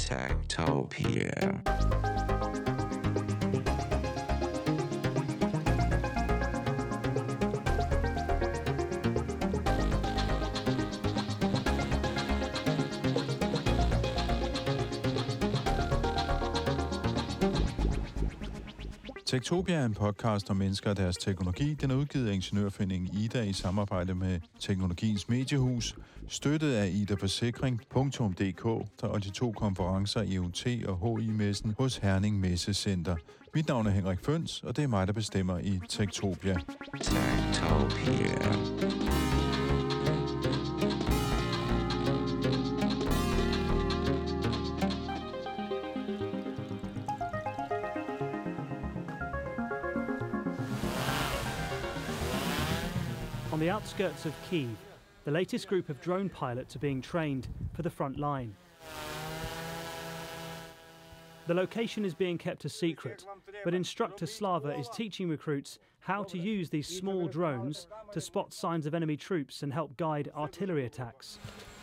Techtopia. Techtopia er en podcast om mennesker og deres teknologi. Den er udgivet af Ingeniørforeningen Ida i samarbejde med Teknologiens Mediehus, støttet af idaforsikring.dk og de 2 konferencer EUT og HI-messen hos Herning Messecenter. Mit navn er Henrik Føns, og det er mig, der bestemmer i Techtopia. Techtopia. On the outskirts of Kyiv, the latest group of drone pilots are being trained for the front line. The location is being kept a secret, but instructor Slava is teaching recruits how to use these small drones to spot signs of enemy troops and help guide artillery attacks.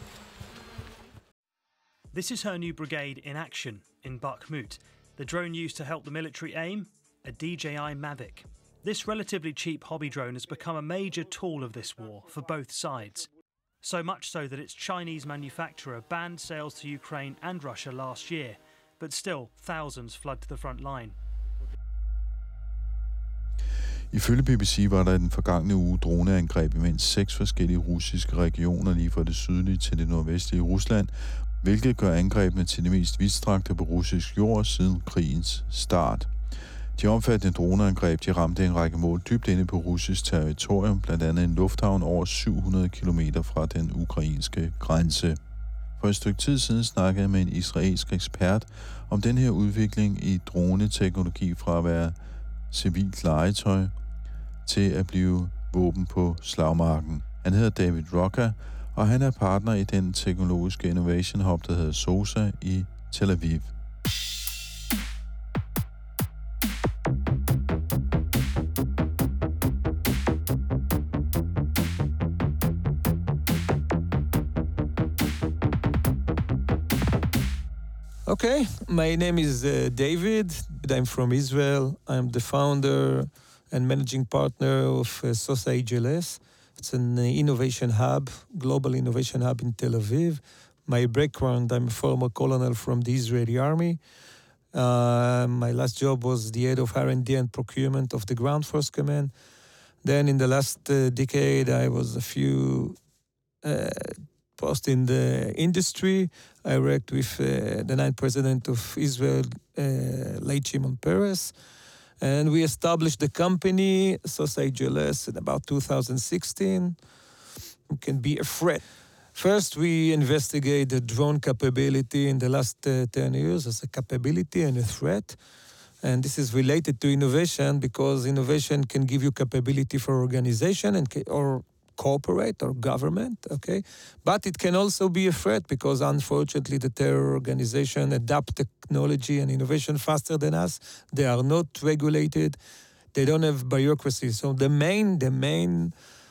This is her new brigade in action in Bakhmut. The drone used to help the military aim, a DJI Mavic. This relatively cheap hobby drone has become a major tool of this war for both sides. So much so that its Chinese manufacturer banned sales to Ukraine and Russia last year, but still thousands flood to the front line. Ifølge BBC var der i den forgangne uge droneangreb i mindst 6 forskellige russiske regioner lige fra det sydlige til det nordvestlige Rusland, hvilket gør angrebene til de mest vidtstrakte på russisk jord siden krigens start. De omfattende droneangreb, de ramte en række mål dybt inde på russisk territorium, blandt andet en lufthavn over 700 km fra den ukrainske grænse. For et stykke tid siden snakkede jeg med en israelsk ekspert om den her udvikling i droneteknologi fra at være civilt legetøj til at blive våben på slagmarken. Han hedder David Rocca, og han er partner i den teknologiske innovation hub, der hedder SOSA i Tel Aviv. Okay, my name is David. I'm from Israel. I'm the founder and managing partner of SOSA AGLS. It's an innovation hub, global innovation hub in Tel Aviv. My background, I'm a former colonel from the Israeli army. My last job was the head of R&D and procurement of the Ground Force Command. Then in the last decade, I was a few posts in the industry. I worked with the ninth president of Israel, late Shimon Peres. And we established the company, SOSA AGLS, in about 2016. It can be a threat. First, we investigate the drone capability in the last 10 years as a capability and a threat. And this is related to innovation because innovation can give you capability for organization or corporate or government, okay? But it can also be a threat because unfortunately the terror organization adapt technology and innovation faster than us. They are not regulated. They don't have bureaucracy. So the main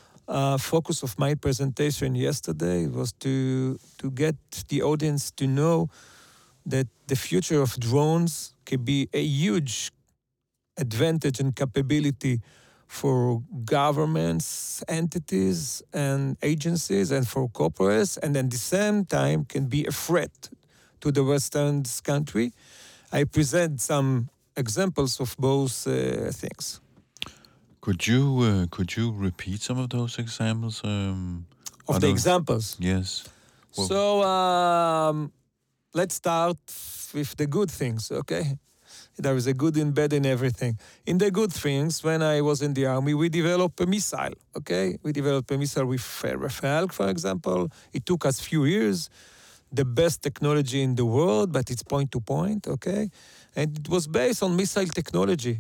focus of my presentation yesterday was to get the audience to know that the future of drones can be a huge advantage and capability for governments, entities, and agencies, and for corporates, and at the same time can be a threat to the Western country. I present some examples of both things. Could you repeat some of those examples? Of the examples? Yes. Well, so let's start with the good things, okay? There is a good and bad in everything. In the good things, when I was in the army, we developed a missile, okay? We developed a missile with Rafale, for example. It took us a few years. The best technology in the world, but it's point-to-point, okay? And it was based on missile technology.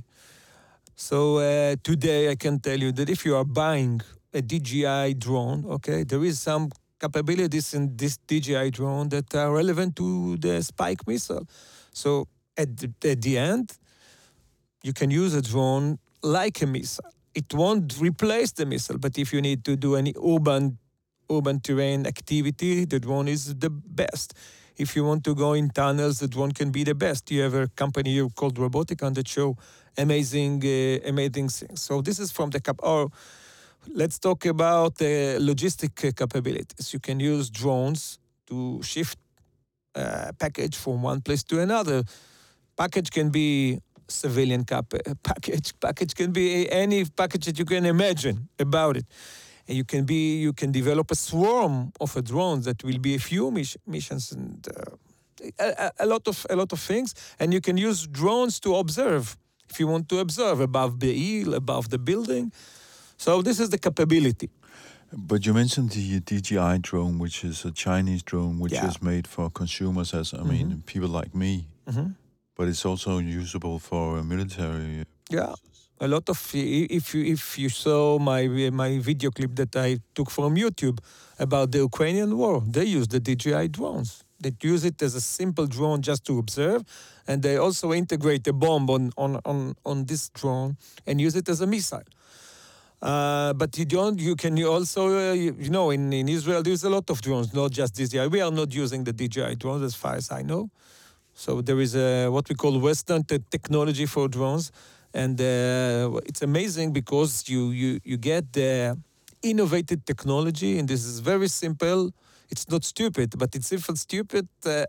So today I can tell you that if you are buying a DJI drone, okay, there is some capabilities in this DJI drone that are relevant to the Spike missile. So at the end, you can use a drone like a missile. It won't replace the missile, but if you need to do any urban terrain activity, the drone is the best. If you want to go in tunnels, the drone can be the best. You have a company here called Roboticon that show amazing things. So this is from the let's talk about logistic capabilities. You can use drones to shift package from one place to another. Package can be civilian package. Package can be any package that you can imagine about it. And you can develop a swarm of drones that will be a few missions and a lot of things. And you can use drones to observe. If you want to observe above the hill, above the building. So this is the capability. But you mentioned the DJI drone, which is a Chinese drone, which is made for consumers, as I mean, people like me. But it's also usable for military. Yeah, a lot of. If you saw my video clip that I took from YouTube about the Ukrainian war, they use the DJI drones. They use it as a simple drone just to observe, and they also integrate a bomb on this drone and use it as a missile. But you can also, in Israel, there's a lot of drones, not just DJI. We are not using the DJI drones as far as I know. So there is what we call Western technology for drones. And it's amazing because you get the innovative technology, and this is very simple. It's not stupid, but it's stupid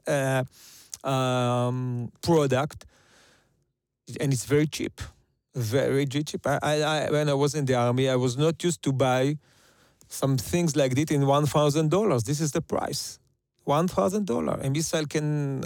product, and it's very cheap. Very cheap. I when I was in the army, I was not used to buy some things like this in $1,000. This is the price, $1,000. A missile can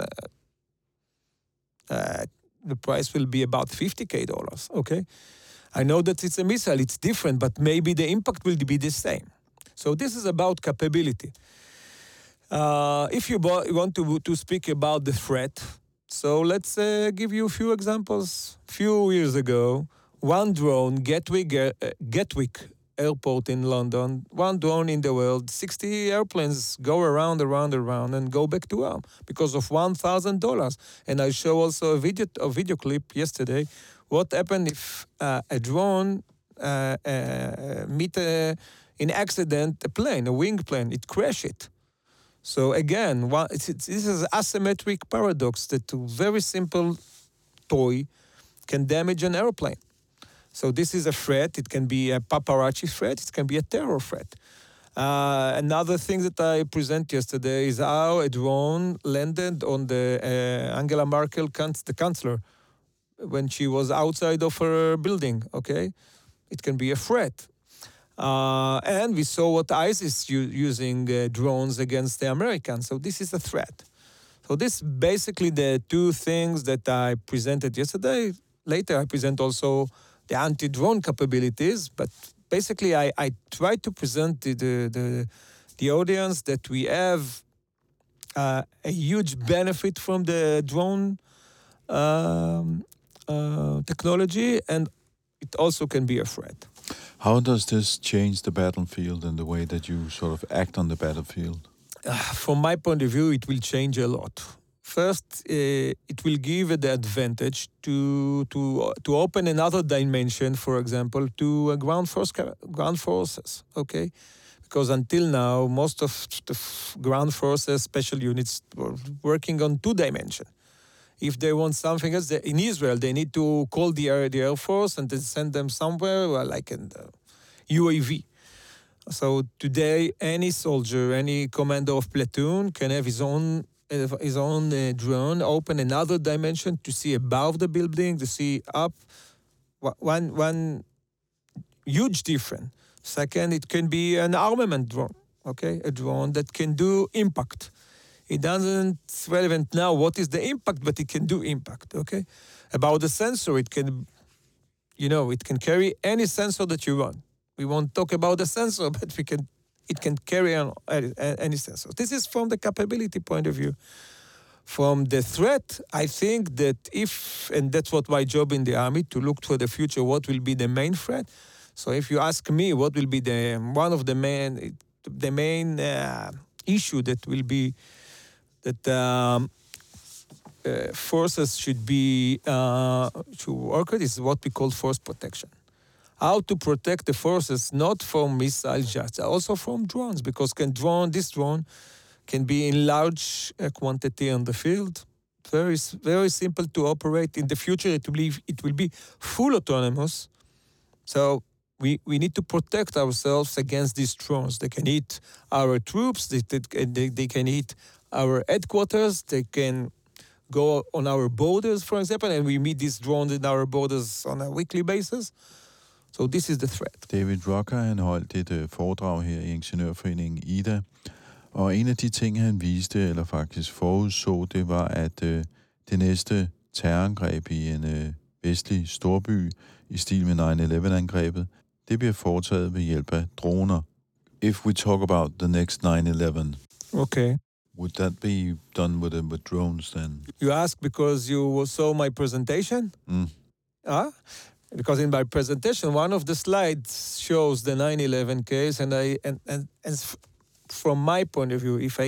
the price will be about $50,000. Okay, I know that it's a missile; it's different, but maybe the impact will be the same. So this is about capability. If you want to speak about the threat. So let's give you a few examples. Few years ago, one drone, Gatwick Airport in London, one drone in the world, 60 airplanes go around, and go back to home because of $1,000. And I show also a video clip yesterday. What happened if a drone meet in accident a plane, a wing plane, it crash it. So again, this is asymmetric paradox that a very simple toy can damage an airplane. So this is a threat. It can be a paparazzi threat. It can be a terror threat. Another thing that I presented yesterday is how a drone landed on the Angela Merkel, the chancellor, when she was outside of her building. Okay, it can be a threat. And we saw what ISIS using drones against the Americans. So this is a threat. So this basically the two things that I presented yesterday. Later I present also the anti-drone capabilities. But basically I try to present the audience that we have a huge benefit from the drone technology, and it also can be a threat. How does this change the battlefield and the way that you sort of act on the battlefield? From my point of view, it will change a lot. First, it will give the advantage to open another dimension, for example, to ground forces. Okay, because until now, most of the ground forces, special units, were working on 2 dimensions. If they want something else, in Israel, they need to call the Air Force and then send them somewhere, like in the UAV. So today, any soldier, any commander of platoon can have his own drone, open another dimension to see above the building, to see up. One huge difference. Second, it can be an armament drone, okay? A drone that can do impact. It doesn't relevant now what is the impact, but it can do impact, okay? About the sensor, it can carry any sensor that you want. We won't talk about the sensor, but it can carry on any sensor. This is from the capability point of view. From the threat, I think that and that's what my job in the army, to look for the future, what will be the main threat. So if you ask me what will be one of the main issue that will be that forces should work with is what we call force protection. How to protect the forces not from missiles, just also from drones, because this drone can be in large quantity on the field. Very simple to operate. In the future, it will be full autonomous. So we need to protect ourselves against these drones. They can hit our troops. They can hit our headquarters. They can go on our borders, for example, and we meet these drones in our borders on a weekly basis. So this is the threat. David Rocker, han holdt et foredrag her i Ingeniørforeningen IDA, og en af de ting, han viste, eller faktisk forudså, det var, at det næste terrorangreb i en vestlig storby i stil med 9/11-angrebet, det bliver foretaget ved hjælp af droner. If we talk about the next 9/11, okay, would that be done with drones then? You ask because you saw my presentation? Because in my presentation, one of the slides shows the 9/11 case, and from my point of view, if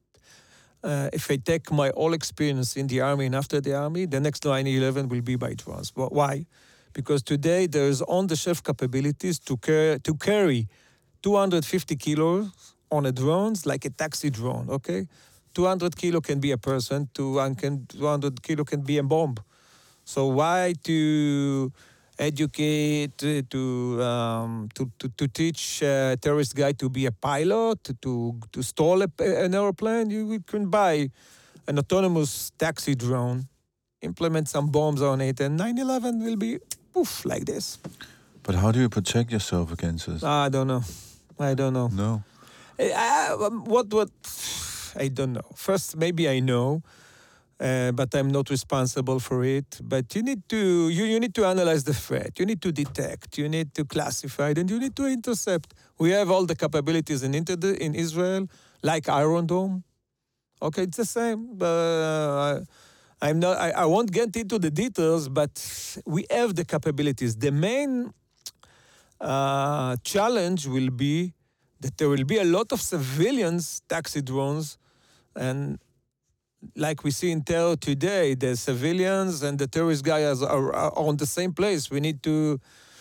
I take my all experience in the army and after the army, the next 9/11 will be by drones. Why? Because today there is on-the-shelf capabilities to carry 250 kilos on a drone, like a taxi drone. Okay, 200 kilo can be a person. 200 kilo can be a bomb. So why to educate, to teach a terrorist guy to be a pilot, to stall an airplane? You can buy an autonomous taxi drone, implement some bombs on it, and 9/11 will be poof like this. But how do you protect yourself against this? I don't know. No. What? I don't know. First, maybe I know. But I'm not responsible for it. But you need to analyze the threat. You need to detect. You need to classify it, and you need to intercept. We have all the capabilities in Israel, like Iron Dome. Okay, it's the same. I won't get into the details, but we have the capabilities. The main challenge will be that there will be a lot of civilians taxi drones, and like we see in terror today, the civilians and the terrorist guys are on the same place. We need to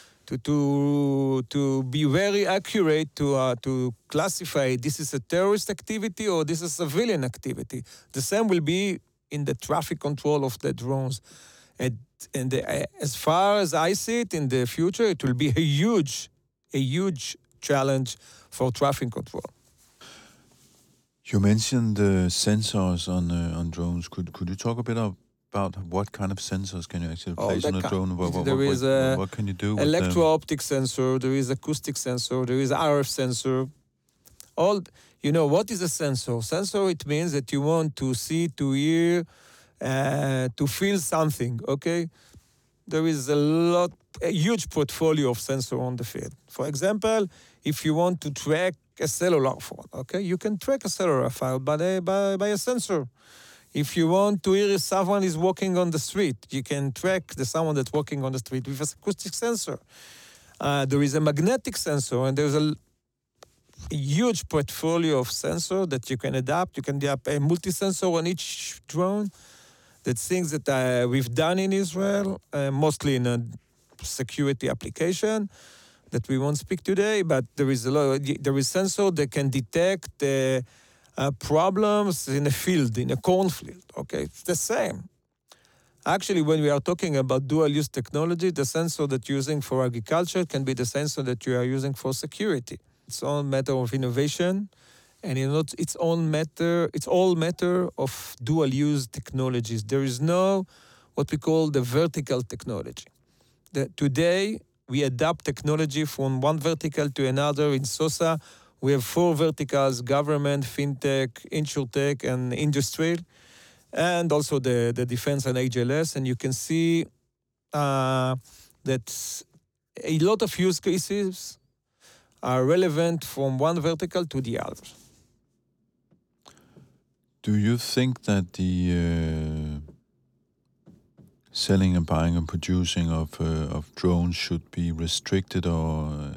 be very accurate to classify this is a terrorist activity or this is civilian activity. The same will be in the traffic control of the drones. And as far as I see it, in the future, it will be a huge challenge for traffic control. You mentioned the sensors on drones. Could you talk a bit about what kind of sensors can you actually place on a drone? What can you do with electro-optic sensor, there is acoustic sensor, there is RF sensor. What is a sensor? Sensor, it means that you want to see, to hear, to feel something, okay? There is a huge portfolio of sensor on the field. For example, if you want to track a cellular phone, okay? You can track a cellular phone by a sensor. If you want to hear if someone is walking on the street, you can track someone that's walking on the street with an acoustic sensor. There is a magnetic sensor, and there's a huge portfolio of sensor that you can adapt. You can adapt a multi-sensor on each drone. That's things that we've done in Israel, mostly in a security application that we won't speak today, but there is sensor that can detect problems in a field, in a cornfield. Okay, it's the same. Actually, when we are talking about dual-use technology, the sensor that you're using for agriculture can be the sensor that you are using for security. It's all matter of innovation, and it's all matter of dual-use technologies. There is no what we call the vertical technology. Today, we adapt technology from one vertical to another. In SOSA, we have 4 verticals: government, fintech, insurtech, and industry, and also the defense and HLS. And you can see that a lot of use cases are relevant from one vertical to the other. Do you think that the selling and buying and producing of drones should be restricted, or?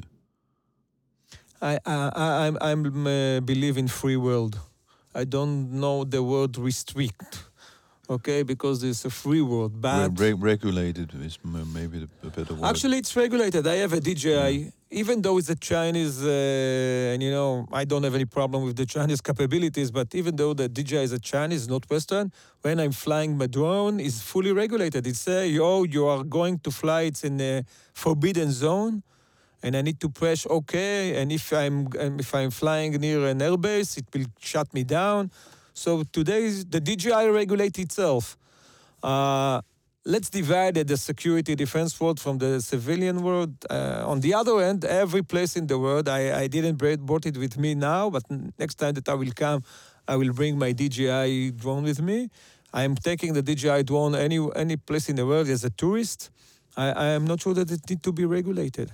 I believe in free world. I don't know the word restrict. okay, because it's a free world. But Regulated is maybe a better word. actually, it's regulated. I have a DJI, even though it's a Chinese, and I don't have any problem with the Chinese capabilities, but even though the DJI is a Chinese, not Western, when I'm flying my drone, it's fully regulated. It says, you are going to fly, it's in a forbidden zone, and I need to press OK, and if I'm flying near an airbase, it will shut me down. So today, the DJI regulates itself. Let's divide the security defense world from the civilian world. On the other end, every place in the world, I didn't brought it with me now, but next time that I will come, I will bring my DJI drone with me. I am taking the DJI drone any place in the world as a tourist. I am not sure that it needs to be regulated.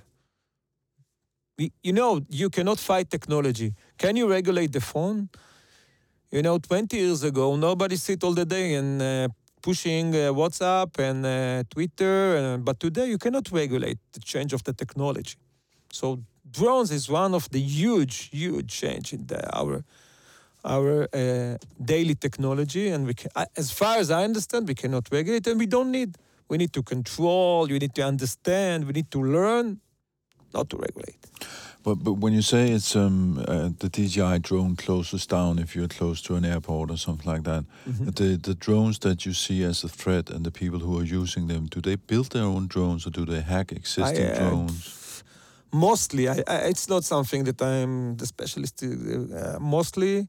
You cannot fight technology. Can you regulate the phone? 20 years ago, nobody sit all the day and pushing WhatsApp and Twitter. But today, you cannot regulate the change of the technology. So drones is one of the huge change in our daily technology. And as far as I understand, we cannot regulate, and we don't need. We need to control. You need to understand. We need to learn, not to regulate. But when you say it's the DJI drone closes down if you're close to an airport or something like that, the drones that you see as a threat and the people who are using them, do they build their own drones or do they hack existing drones? Mostly, it's not something that I'm the specialist. Mostly,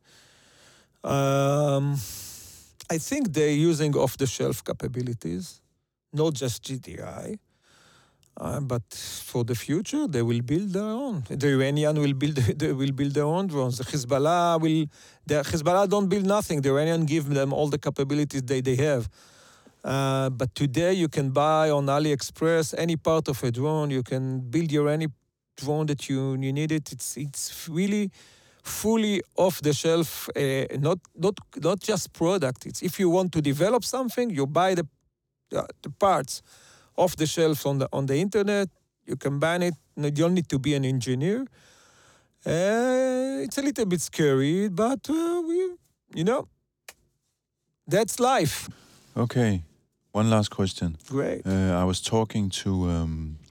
I think they're using off-the-shelf capabilities, not just GDI. But for the future, they will build their own. The Iranian will build their own drones. The Hezbollah don't build nothing. The Iranian give them all the capabilities they have. But today you can buy on AliExpress any part of a drone. You can build any drone that you need it. It's really fully off the shelf. Not just product. It's if you want to develop something, you buy the parts off the shelf on the internet. You can ban it. You don't need to be an engineer. It's a little bit scary, but that's life. Okay, one last question. Great. I was talking to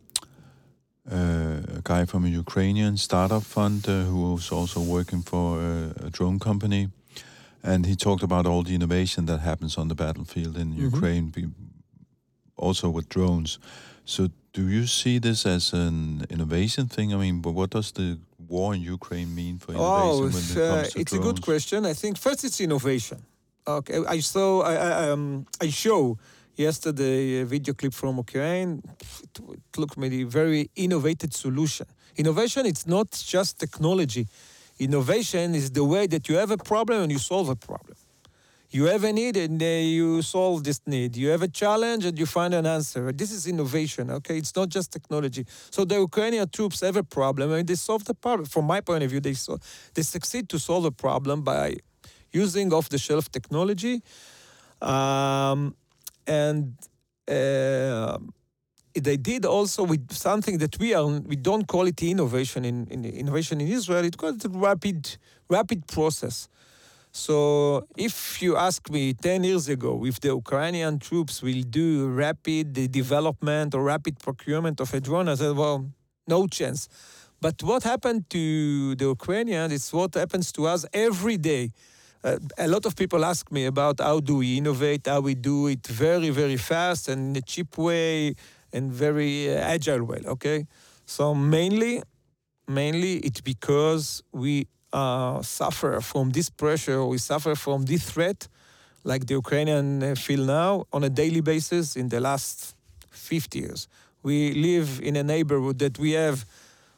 a guy from a Ukrainian startup fund who was also working for a drone company, and he talked about all the innovation that happens on the battlefield in Ukraine. Also with drones. So do you see this as an innovation thing? I mean, but what does the war in Ukraine mean for innovation when it comes to drones? It's a good question. I think first it's innovation. Okay, I show yesterday a video clip from Ukraine. It looked maybe very innovative solution. Innovation, it's not just technology. Innovation is the way that you have a problem and you solve a problem. You have a need and you solve this need. You have a challenge and you find an answer. This is innovation, okay? It's not just technology. So the Ukrainian troops have a problem and they solve the problem. From my point of view, they succeed to solve a problem by using off-the-shelf technology. They did also with something that we don't call it innovation in innovation in Israel. It's called a rapid process. So if you ask me 10 years ago if the Ukrainian troops will do rapid development or rapid procurement of a drone, I said, well, no chance. But what happened to the Ukrainians is what happens to us every day. A lot of people ask me about how do we innovate, how we do it very, very fast and in a cheap way and very agile way, okay? So mainly it's because we suffer from this pressure, we suffer from this threat, like the Ukrainian feel now, on a daily basis in the last 50 years. We live in a neighborhood that we have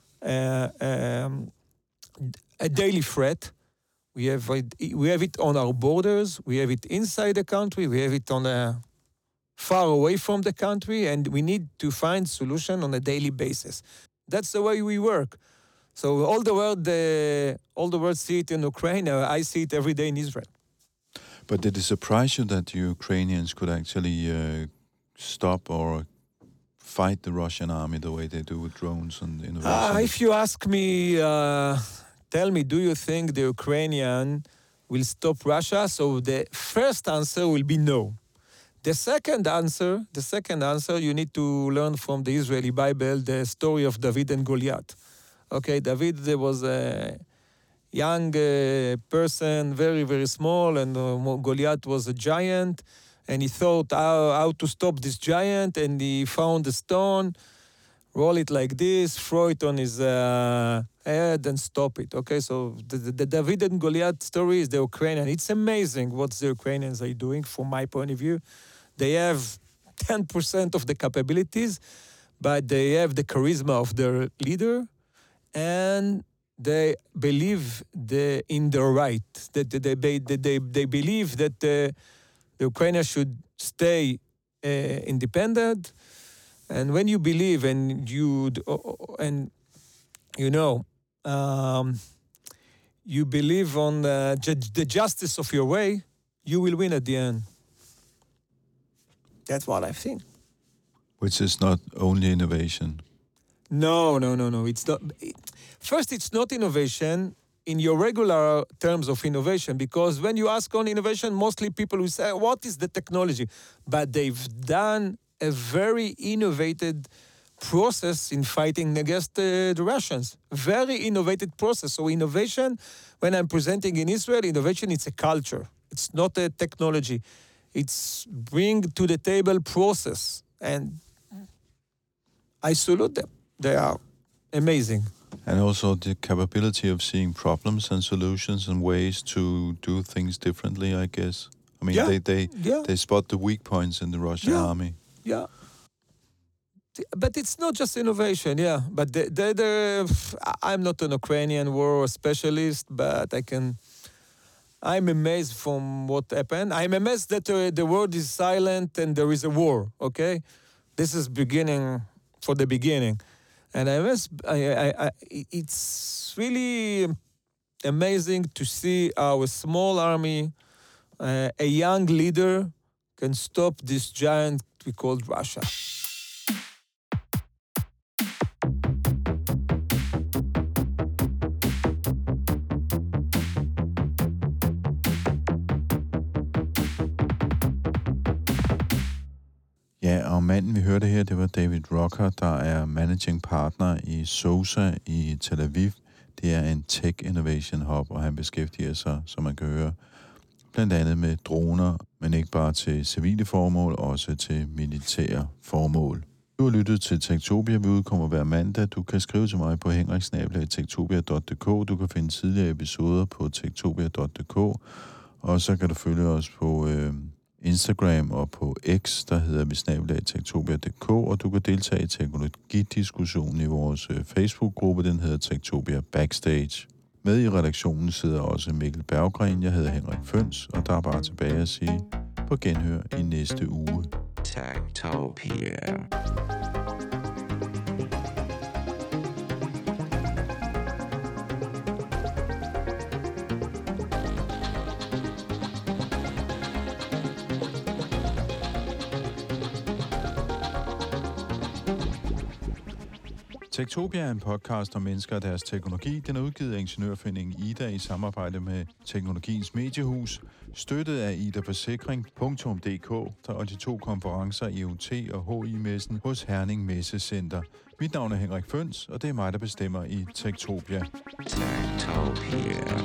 a daily threat. We have it on our borders, we have it inside the country, we have it on far away from the country, and we need to find solution on a daily basis. That's the way we work. So all the world see it in Ukraine. I see it every day in Israel. But did it surprise you that the Ukrainians could actually stop or fight the Russian army the way they do with drones and innovation? If you ask me, tell me, do you think the Ukrainian will stop Russia? So the first answer will be no. The second answer, you need to learn from the Israeli Bible, the story of David and Goliath. Okay, David was a young person, very, very small, and Goliath was a giant, and he thought how to stop this giant, and he found a stone, roll it like this, throw it on his head, and stop it. Okay, so the David and Goliath story is the Ukrainian. It's amazing what the Ukrainians are doing, from my point of view. They have 10% of the capabilities, but they have the charisma of their leader, and they believe in their right. That they believe that the Ukraine should stay independent. And when you believe and you believe on the justice of your way, you will win at the end. That's what I think. Which is not only innovation. No. It's not. First, it's not innovation in your regular terms of innovation, because when you ask on innovation, mostly people will say, what is the technology? But they've done a very innovative process in fighting against the Russians. Very innovative process. So innovation, when I'm presenting in Israel, innovation, it's a culture. It's not a technology. It's bring to the table process. And I salute them. They are amazing. And also the capability of seeing problems and solutions and ways to do things differently, I guess. I mean, they spot the weak points in the Russian army. Yeah. But it's not just innovation, But I'm not an Ukrainian war specialist, but I'm amazed from what happened. I'm amazed that the world is silent and there is a war, okay? This is beginning for the beginning. And it's really amazing to see our small army, a young leader, can stop this giant we call Russia. Ja, og manden vi hørte her, det var David Rocker, der er managing partner i SOSA i Tel Aviv. Det er en tech innovation hub, og han beskæftiger sig, som man kan høre, blandt andet med droner, men ikke bare til civile formål, også til militære formål. Du har lyttet til Techtopia. Vi udkommer hver mandag. Du kan skrive til mig på henrik@techtopia.dk. Du kan finde tidligere episoder på techtopia.dk. Og så kan du følge os på Instagram og på X, der hedder vi @techtopia.dk, og du kan deltage i teknologidiskussionen i vores Facebook-gruppe, den hedder Techtopia Backstage. Med i redaktionen sidder også Mikkel Berggren, jeg hedder Henrik Føns, og der er bare tilbage at sige på genhør i næste uge. Techtopia. Techtopia er en podcast om mennesker og deres teknologi. Den er udgivet af Ingeniørforeningen Ida i samarbejde med Teknologiens Mediehus, støttet af idaforsikring.dk, og de 2 konferencer IoT og HI-messen hos Herning Messecenter. Mit navn er Henrik Føns, og det er mig, der bestemmer i Techtopia. Techtopia.